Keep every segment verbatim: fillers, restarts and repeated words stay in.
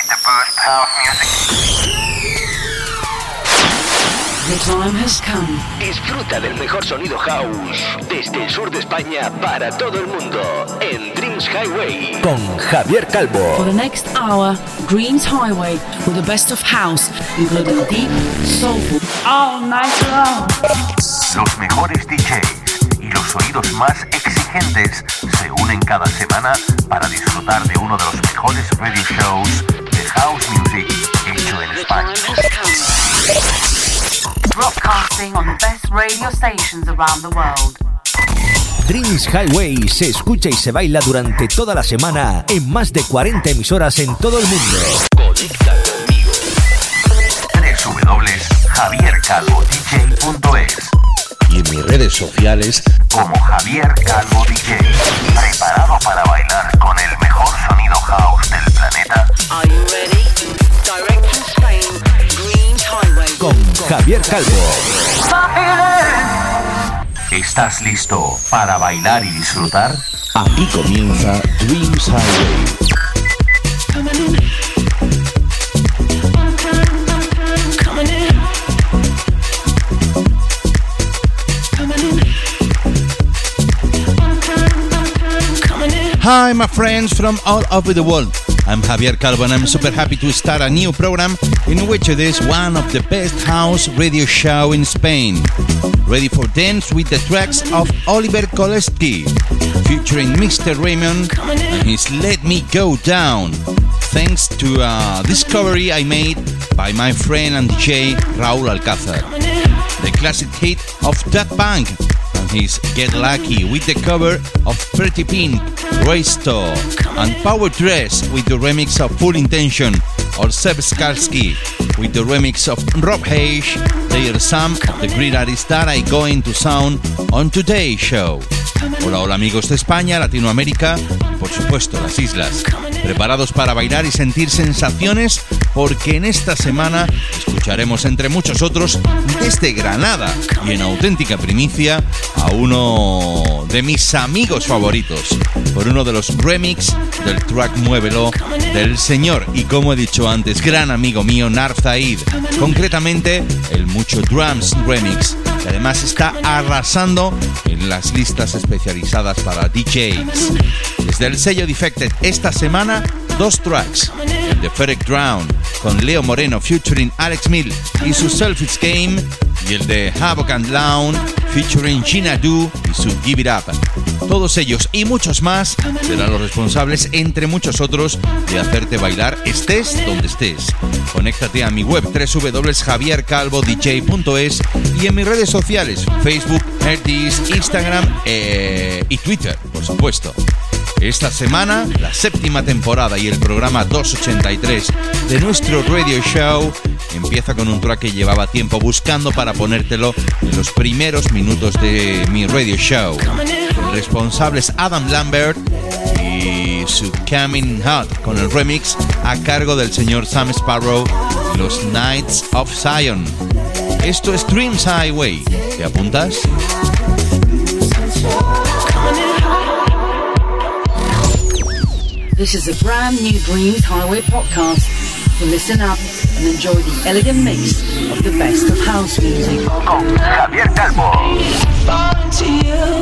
the best house music. The time has come. Disfruta del mejor sonido house desde el sur de España para todo el mundo en Dreams Highway con Javier Calvo. For the next hour, Dreams Highway with the best of house, including deep, soulful, all night long. Los mejores D Js y los oídos más exigentes se unen cada semana para disfrutar de uno de los mejores radio shows de house music hecho en España. Broadcasting on the best radio stations around the world. Dreams Highway se escucha y se baila durante toda la semana en más de cuarenta emisoras en todo el mundo. Conecta conmigo. doble u doble u doble u punto javier calvo d j punto es y en mis redes sociales como Javier Calvo D J. ¿Preparado para bailar con el mejor sonido house del planeta? Are you ready? Direct from Spain, Dreams Highway. Con Javier Calvo. ¿Estás listo para bailar y disfrutar? Aquí comienza Dreams Highway. Hi, my friends from all over the world. I'm Javier Calvo and I'm super happy to start a new program in which it is one of the best house radio show in Spain. Ready for dance with the tracks of Oliver Koleski, featuring Mister Raymond and his Let Me Go Down, thanks to a discovery I made by my friend and D J Raúl Alcázar. The classic hit of Daft Punk and his Get Lucky with the cover of Pretty Pink, Raysto, and Power Dress with the remix of Full Intention, or Seb Skalski with the remix of Rob Hayes. They are some of the great artists that I going to sound on today's show. Hola, hola amigos de España, Latinoamérica y por supuesto las islas. ¿Preparados para bailar y sentir sensaciones? Porque en esta semana escucharemos entre muchos otros desde Granada y en auténtica primicia a uno de mis amigos favoritos por uno de los remix del track Muévelo del señor y, como he dicho antes, gran amigo mío Narf Zaid, concretamente el Mucho Drums remix, que además está arrasando en las listas especializadas para D Js. Desde el sello Defected esta semana, dos tracks, el de Ferric Drown con Leo Moreno featuring Alex Mill y su Selfish Game, y el de Havoc and Lounge featuring Gina Du y su Give It Up. Todos ellos y muchos más serán los responsables, entre muchos otros, de hacerte bailar estés donde estés. Conéctate a mi web doble u doble u doble u punto javier calvo d j punto es y en mis redes sociales Facebook, Hertis, Instagram eh, y Twitter, por supuesto. Esta semana, la séptima temporada y el programa doscientos ochenta y tres de nuestro radio show empieza con un track que llevaba tiempo buscando para ponértelo en los primeros minutos de mi radio show. El responsable es Adam Lambert y su Coming Hot con el remix a cargo del señor Sam Sparrow y los Knights of Zion. Esto es Dreams Highway. ¿Te apuntas? This is a brand new Dreams Highway podcast. So listen up and enjoy the elegant mix of the best of house music. Con Javier Calvo. Falling to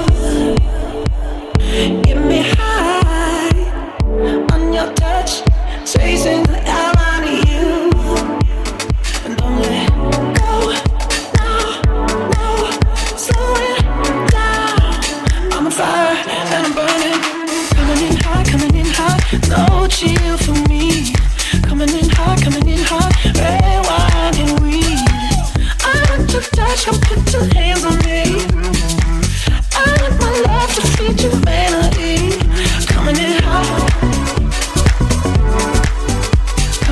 you, get me high on your touch, chasing the hell out of you, and don't let go, no, no, slow it down. I'm on fire and I'm burning, coming in hot, coming in hot, no chill for me, coming in hot, coming in hot, red wine and weed. I want your touch, come put your hands on me. I want my love to feed your melody, coming in hot,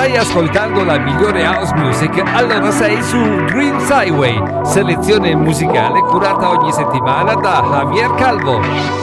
Stai ascoltando la migliore house music, allora sei su Dreams Highway, selezione musicale curata ogni settimana da Javier Calvo.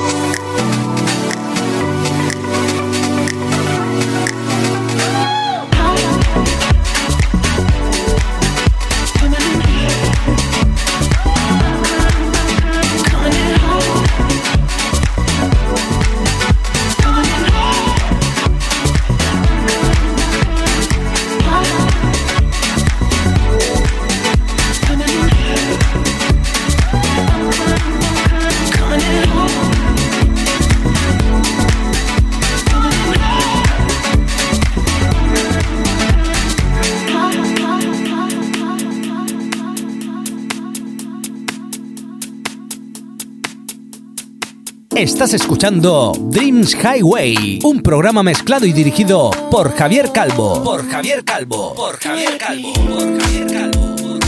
Estás escuchando Dreams Highway, un programa mezclado y dirigido por Javier Calvo. Por Javier Calvo. Por Javier Calvo. Por Javier Calvo.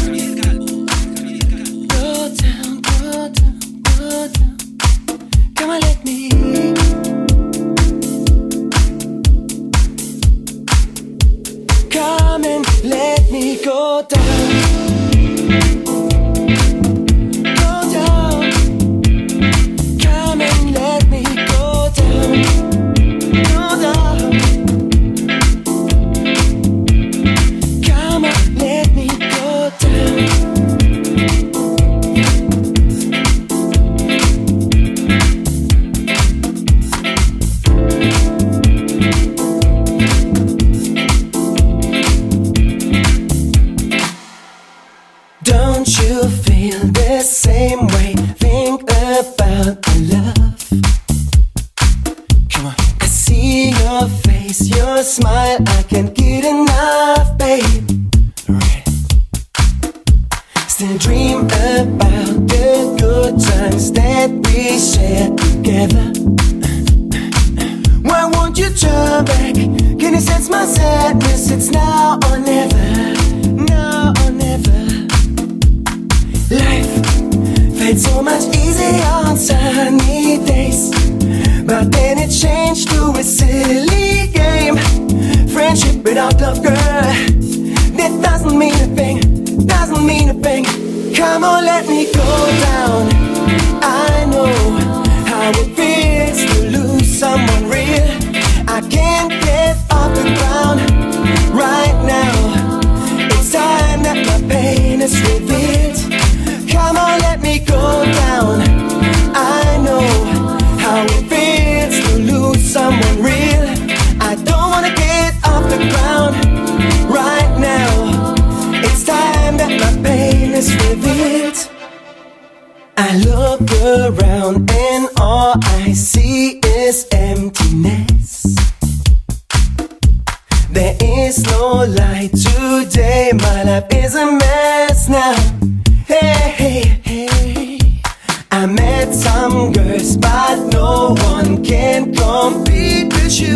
Come and let me go down. Same way, think about the love. Come on. I see your face, your smile, I can't get enough, babe. Right. Still dream about the good times that we shared together. Why won't you turn back? Can you sense my sadness? It's now or never, now or never. Life felt so much easier on sunny days, but then it changed to a silly game. Friendship without love, girl, that doesn't mean a thing, doesn't mean a thing. Come on, let me go down. I know how it feels to lose someone real. I can't get off the ground right now. It's time that my pain is revealed. Come on, let me go down. I know how it feels to lose someone real. I don't wanna get off the ground right now. It's time that my pain is revealed. I look around and all I see is emptiness. There is no light today, my life is a mess now. Hey, hey, hey, I met some girls, but no one can compete with you.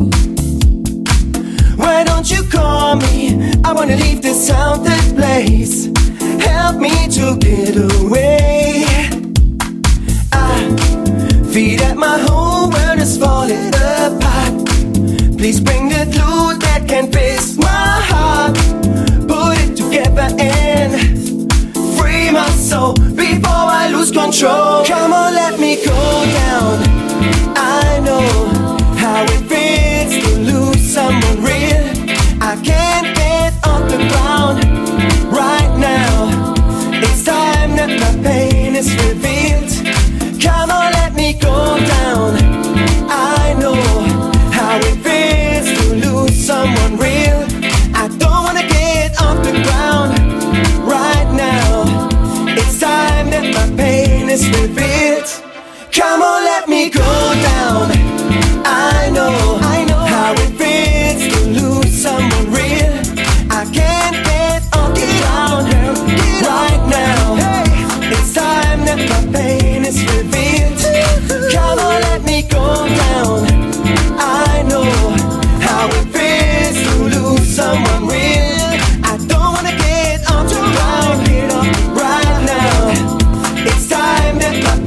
Why don't you call me? I wanna leave this haunted place. Help me to get away. I feel that my whole world is falling apart. Please bring the glue that can fix my heart. Put it together and my soul before I lose control. Come on, let me go down. I know how it feels to lose someone real. I can't get off the ground right now. It's time that my pain is revealed. Come on, let me go down. I know how it feels to lose someone real. I don't wanna get off the ground right now. It's time that my pain is revealed. Come on, let me go down. I know, I know how it feels to lose someone real. I can't get off the ground right now. It's time that my pain is revealed. Come on, let me go down. I know how it feels to lose someone real. I don't wanna get off the ground right now. It's time that my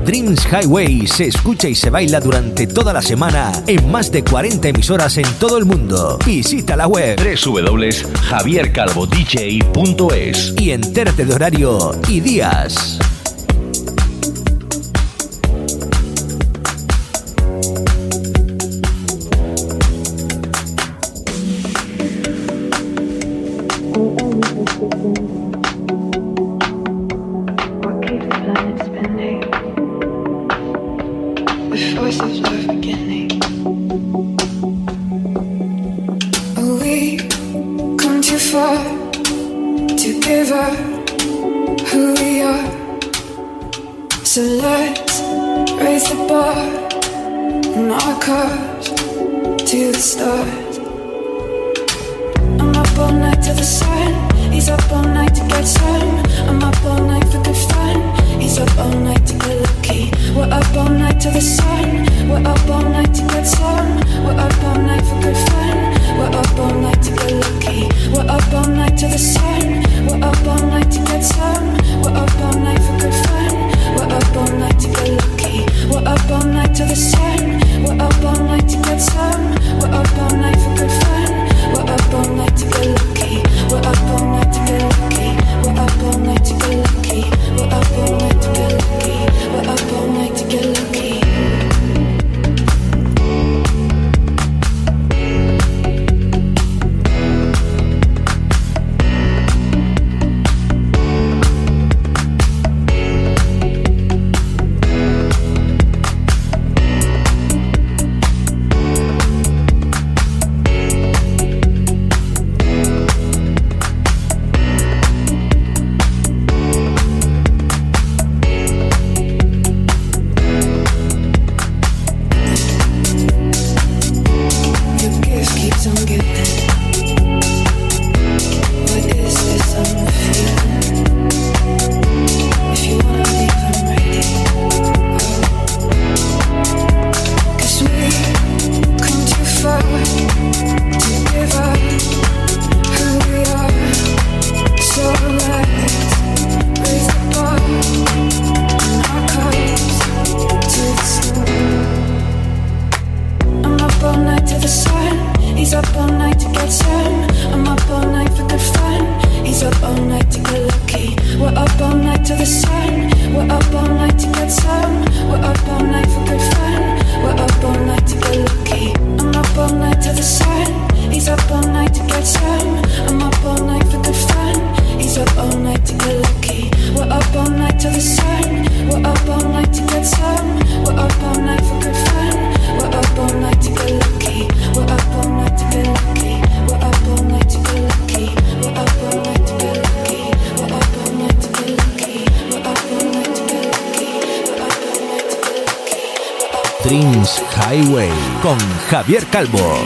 Dreams Highway se escucha y se baila durante toda la semana en más de cuarenta emisoras en todo el mundo. Visita la web doble u doble u doble u punto javier calvo d j punto es y entérate de horario y días. Dreams Highway con Javier Calvo.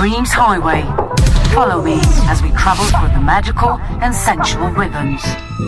Dreams Highway. Follow me as we travel through the magical and sensual rhythms.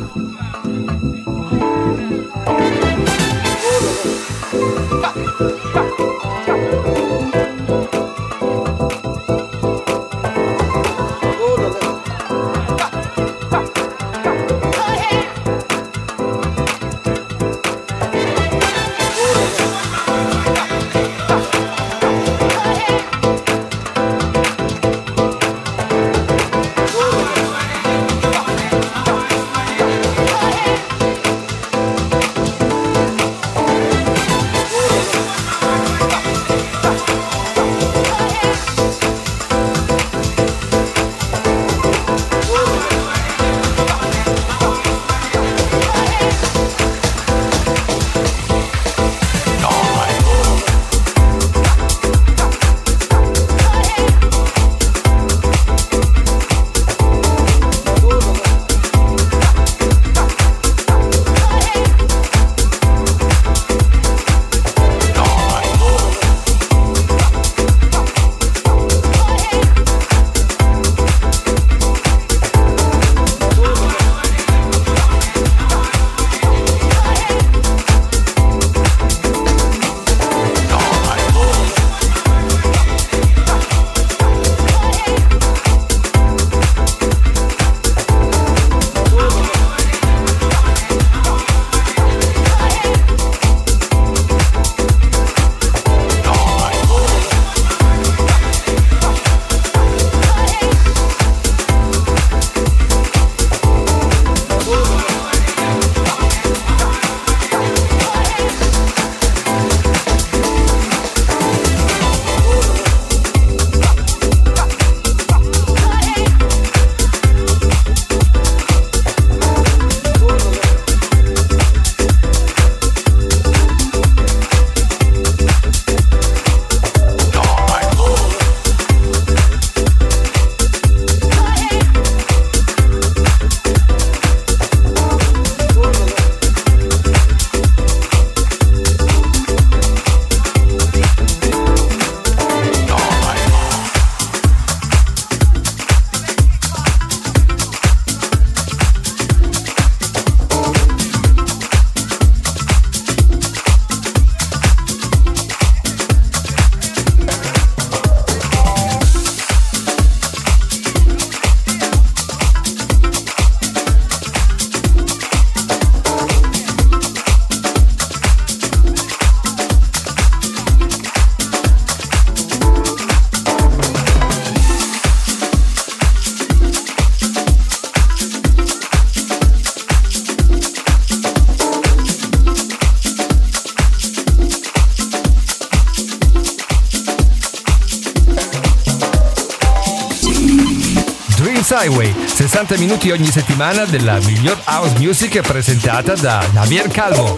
Highway, sessanta minuti ogni settimana della miglior house music presentata da Javier Calvo.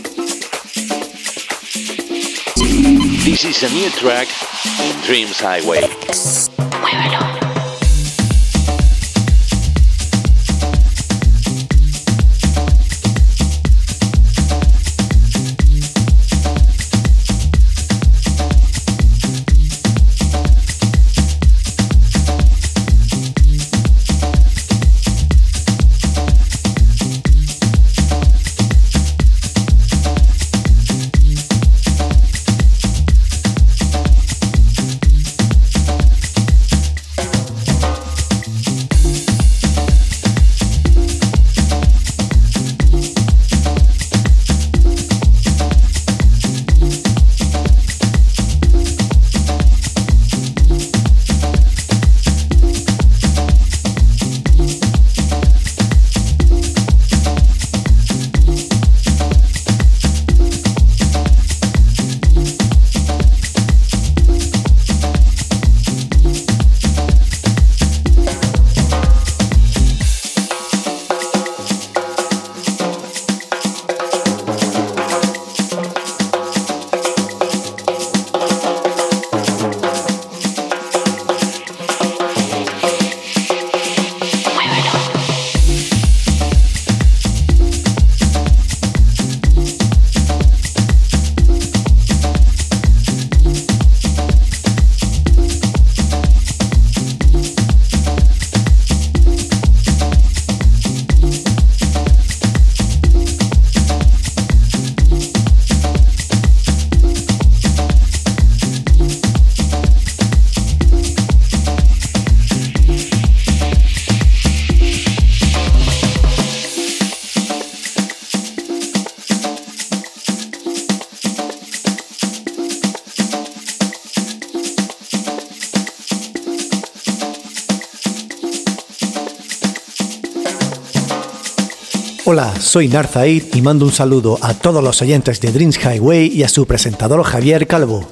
This is a new track in Dreams Highway. Muévelo. Hola, soy Narzaid y mando un saludo a todos los oyentes de Dreams Highway y a su presentador Javier Calvo.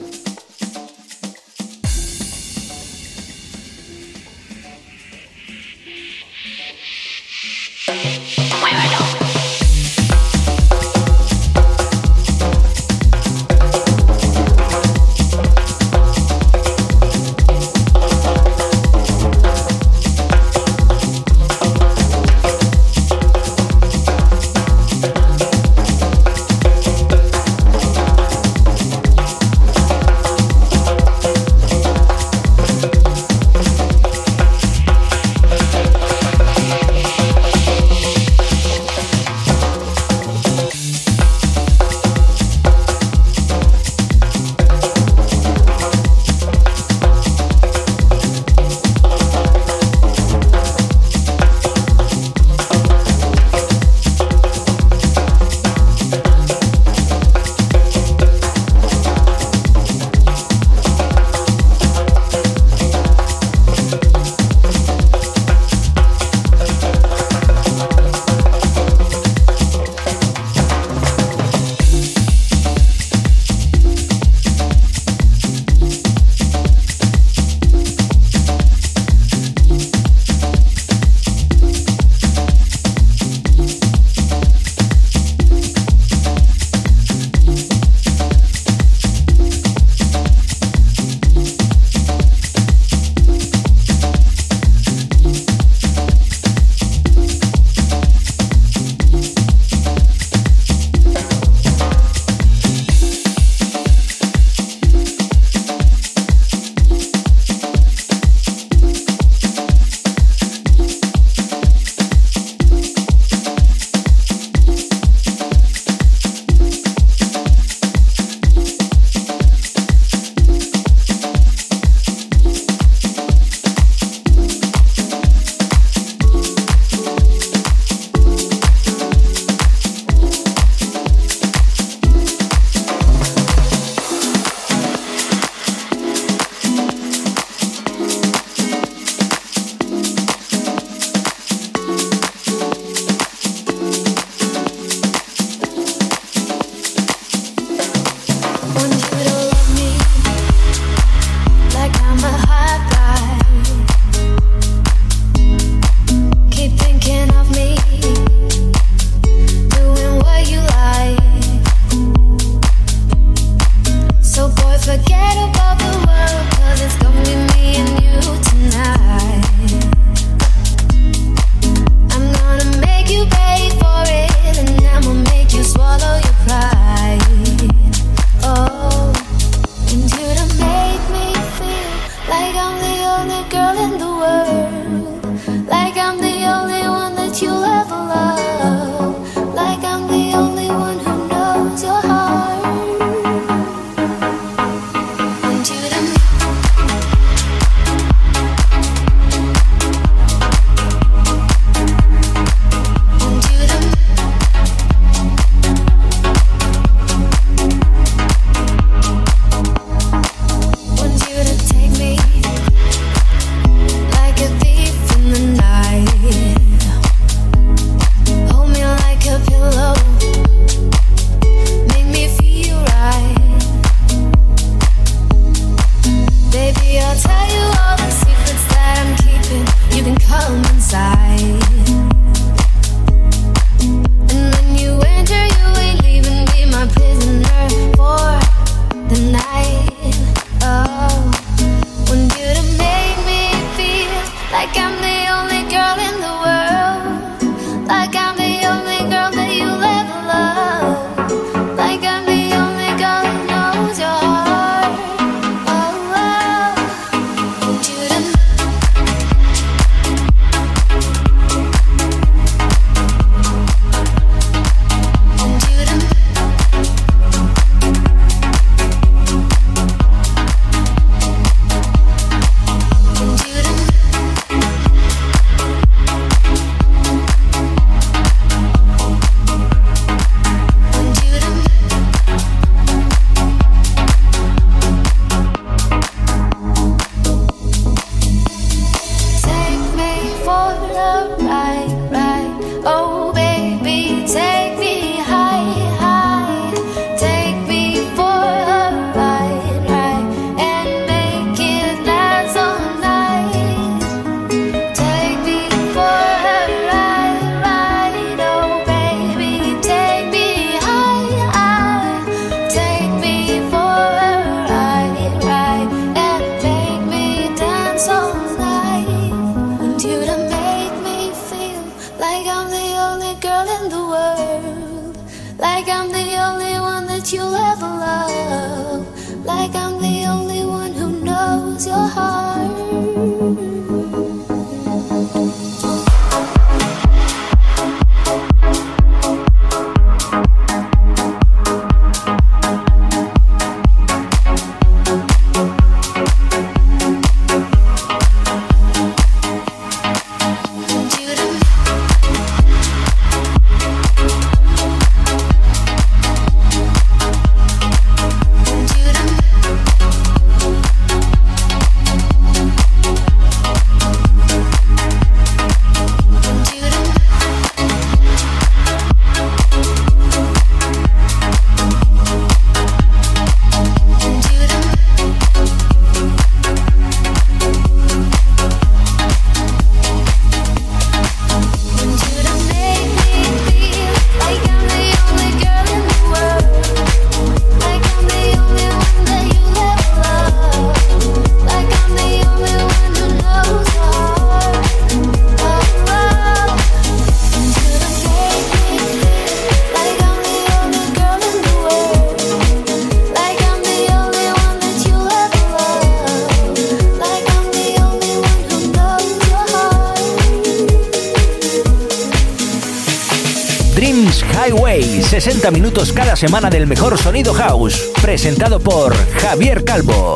Highway, sesenta minutos cada semana del mejor sonido house, presentado por Javier Calvo.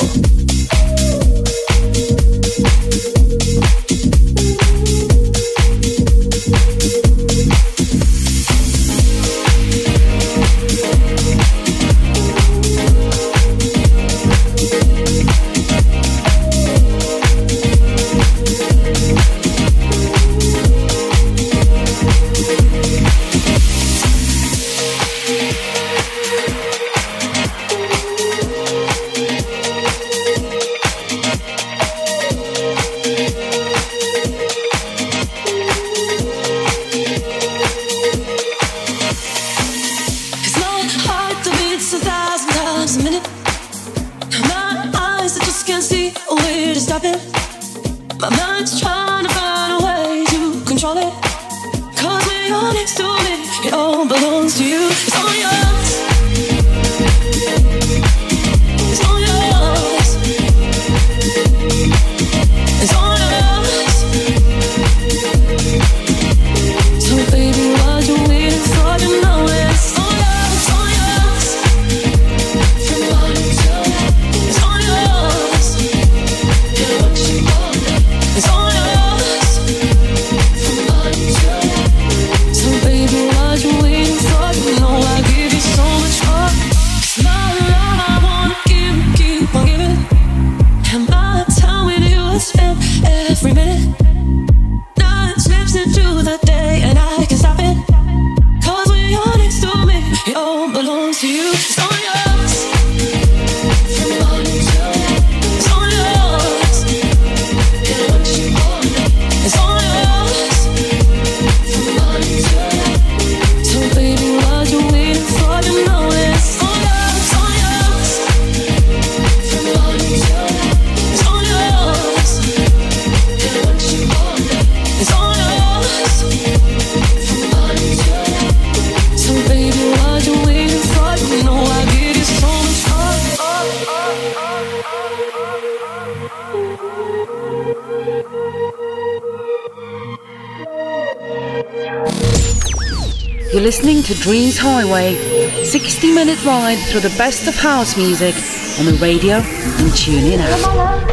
You're listening to Dreams Highway, sixty minute ride through the best of house music on the radio and tune in app.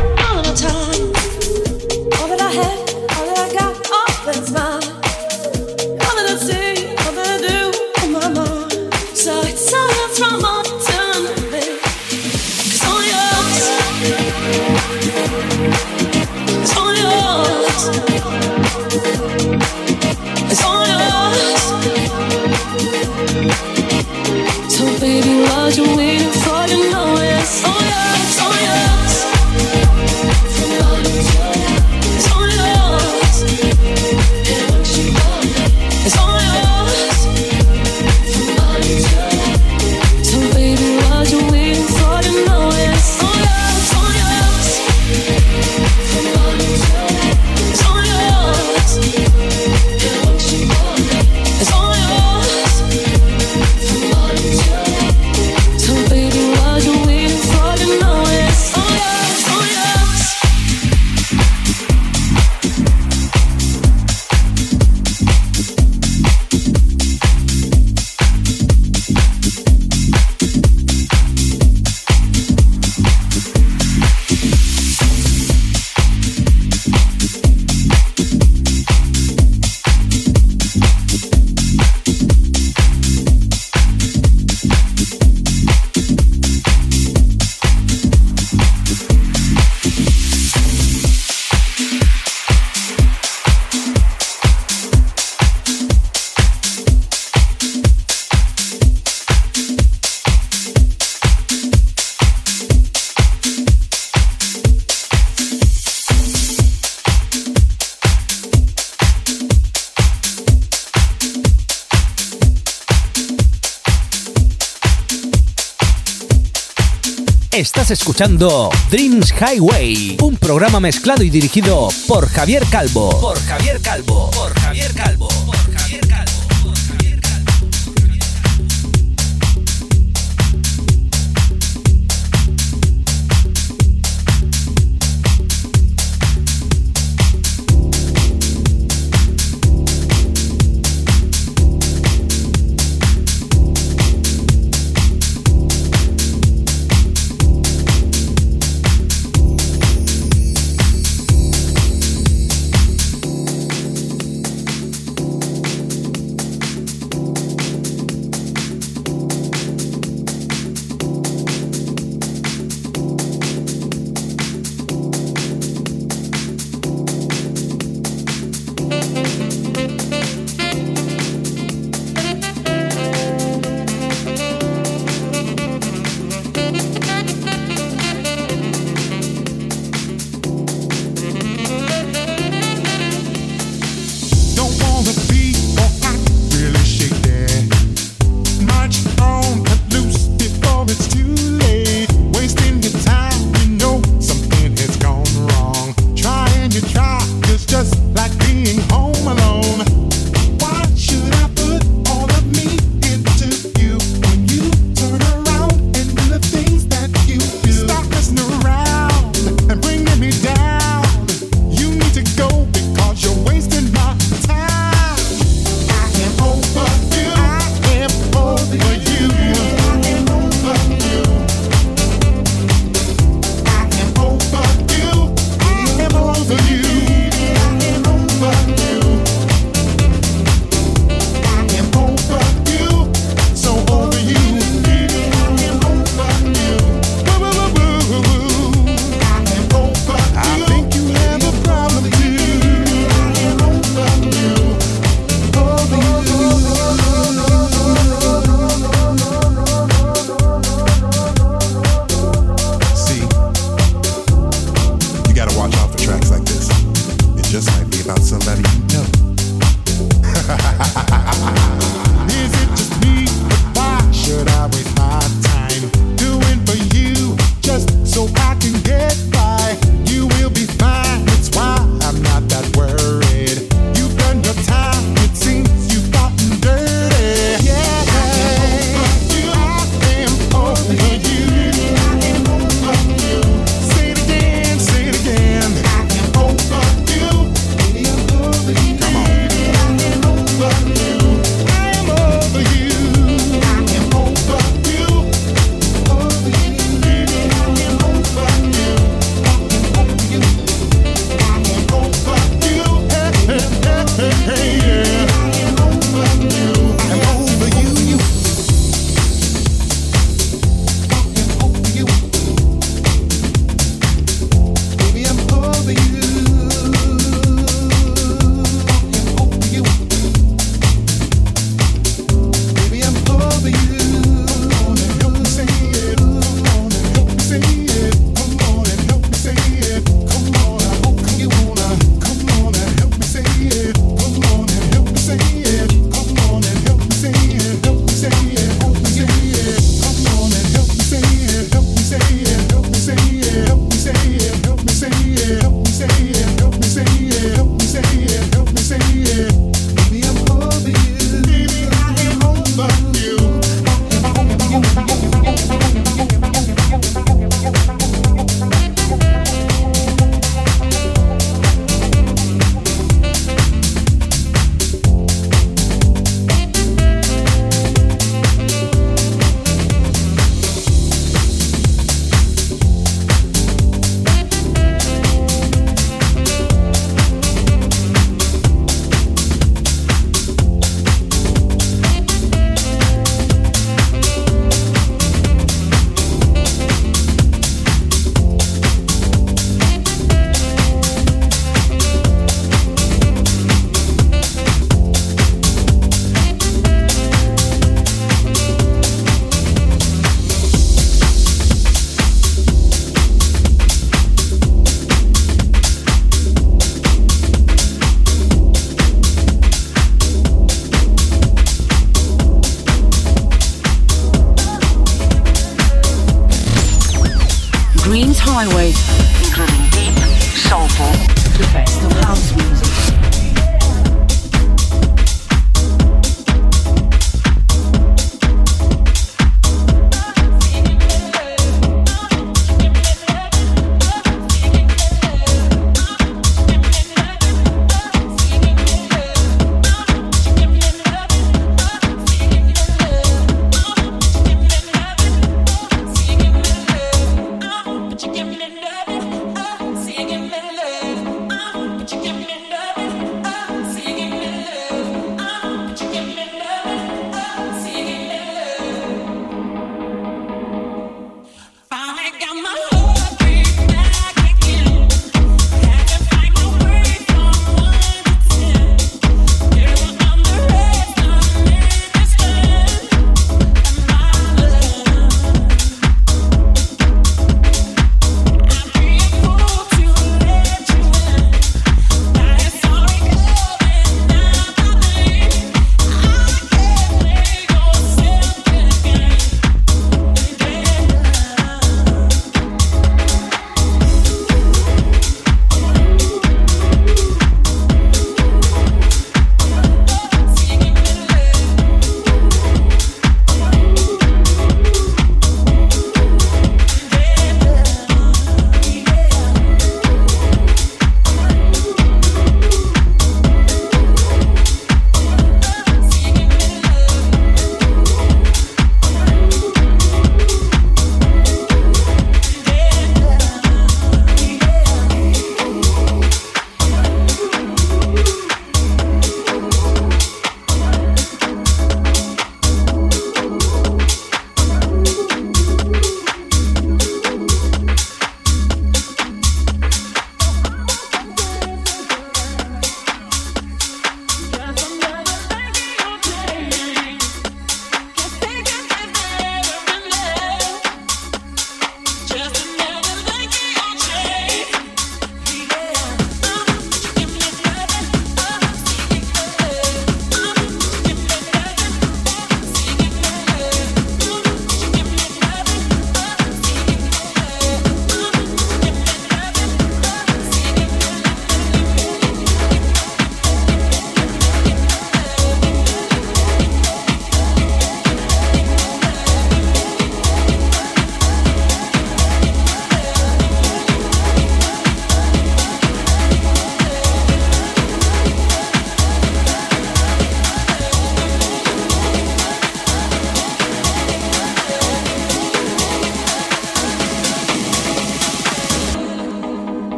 Estás escuchando Dreams Highway, un programa mezclado y dirigido por Javier Calvo. Por Javier Calvo. Por Javier Calvo. Por Javier Calvo. Dreams Highway, including deep, soulful, the best of house music. Give me love,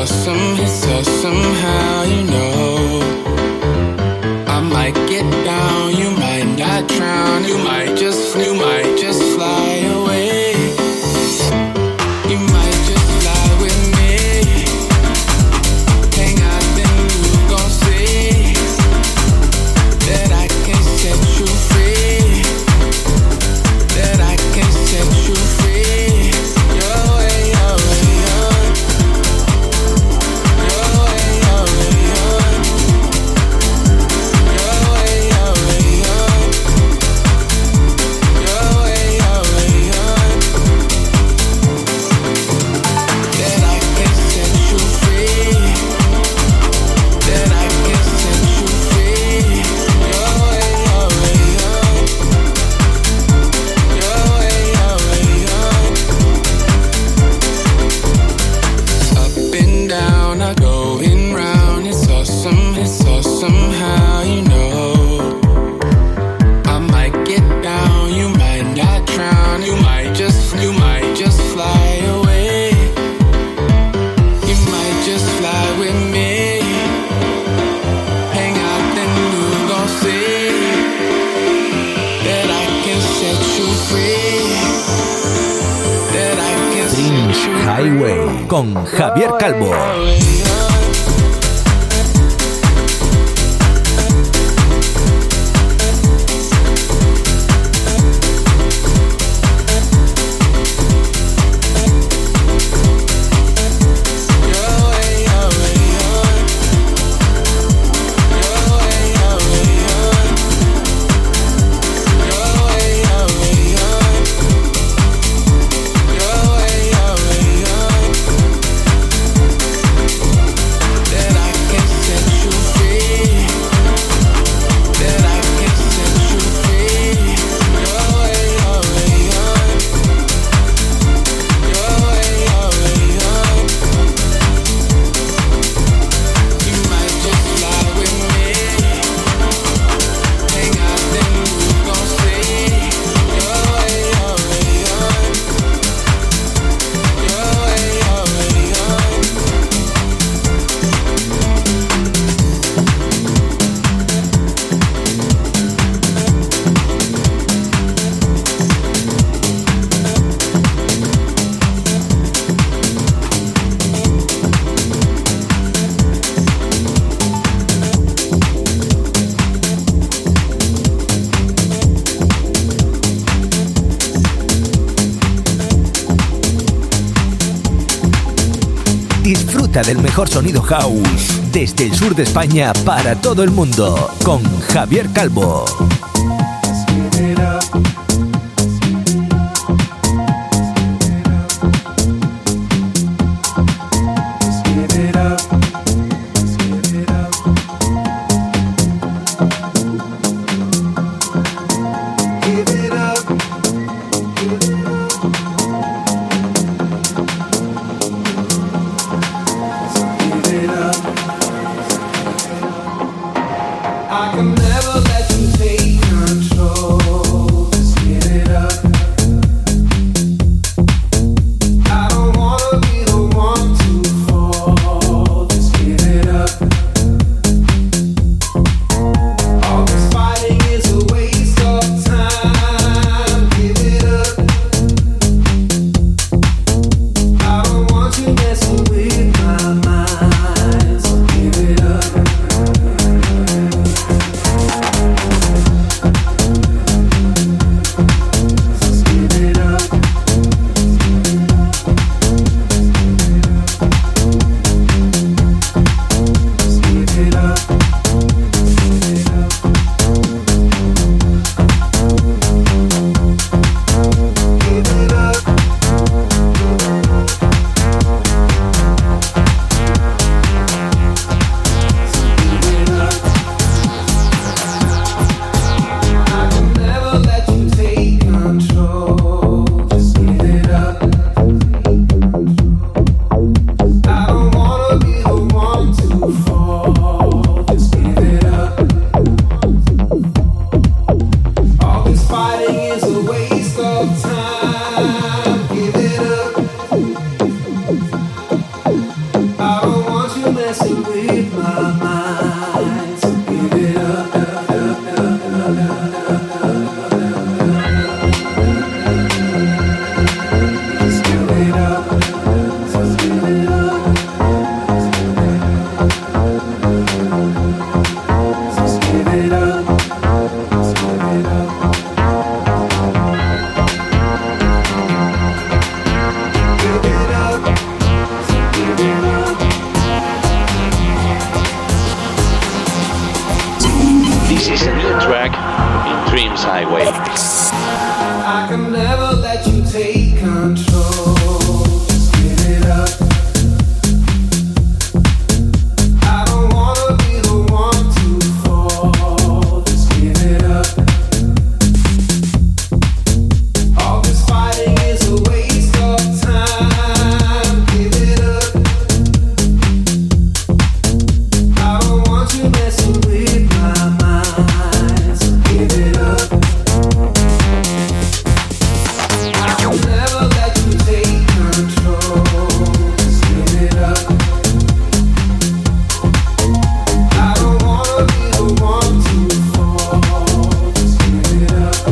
awesome, it's awesome how you know. I might get down, you might not drown, you might just, you might just fly away. You might just fly with me. Hang out, then you gon' see that I can set you free. That I can set you free. Your way, your way, your Your way, your way, your Your way, your way, your Your way, your way, your That I can set you free. That I can set you free. Your way, your way, your Your way, your way, your Up and down, I going round. It's awesome, it's awesome how you know. I might get down, you might not drown, you might just, you might just fly away. You might just fly with me. Hang out, then you gon' see that I can set you free. That I can Dreams set you free. Highway con Javier Calvo. Disfruta del mejor sonido house desde el sur de España para todo el mundo con Javier Calvo. I can never let you take Highway. I can never let you take control. Just give it up. I don't wanna be the one to fall. Just give it up. All this fighting is a waste of time. Give it up. I don't want you messing with my mind. So give it up. I'll never let you take control. Just give it up. I don't wanna be the one to fall. Just give it up.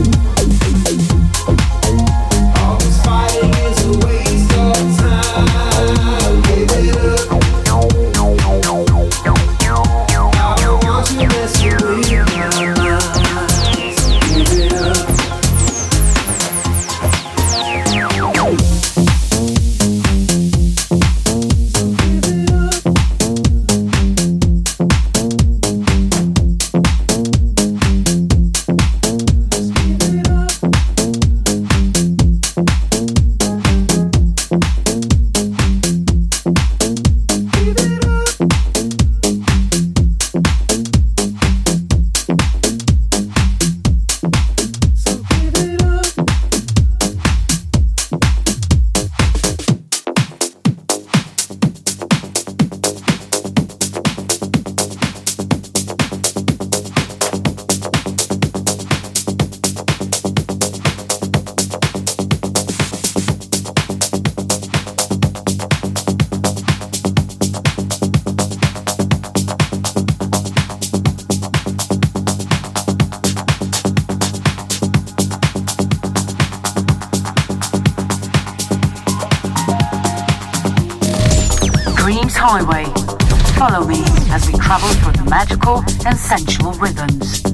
All this fighting is a waste of time. Give it up. I don't want you messing with my mind. So give it up. Dreams Highway. Follow me as we travel through the magical and sensual rhythms.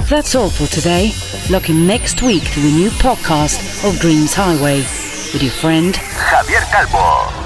That's all for today. Looking next week to a new podcast of Dreams Highway with your friend Javier Calvo.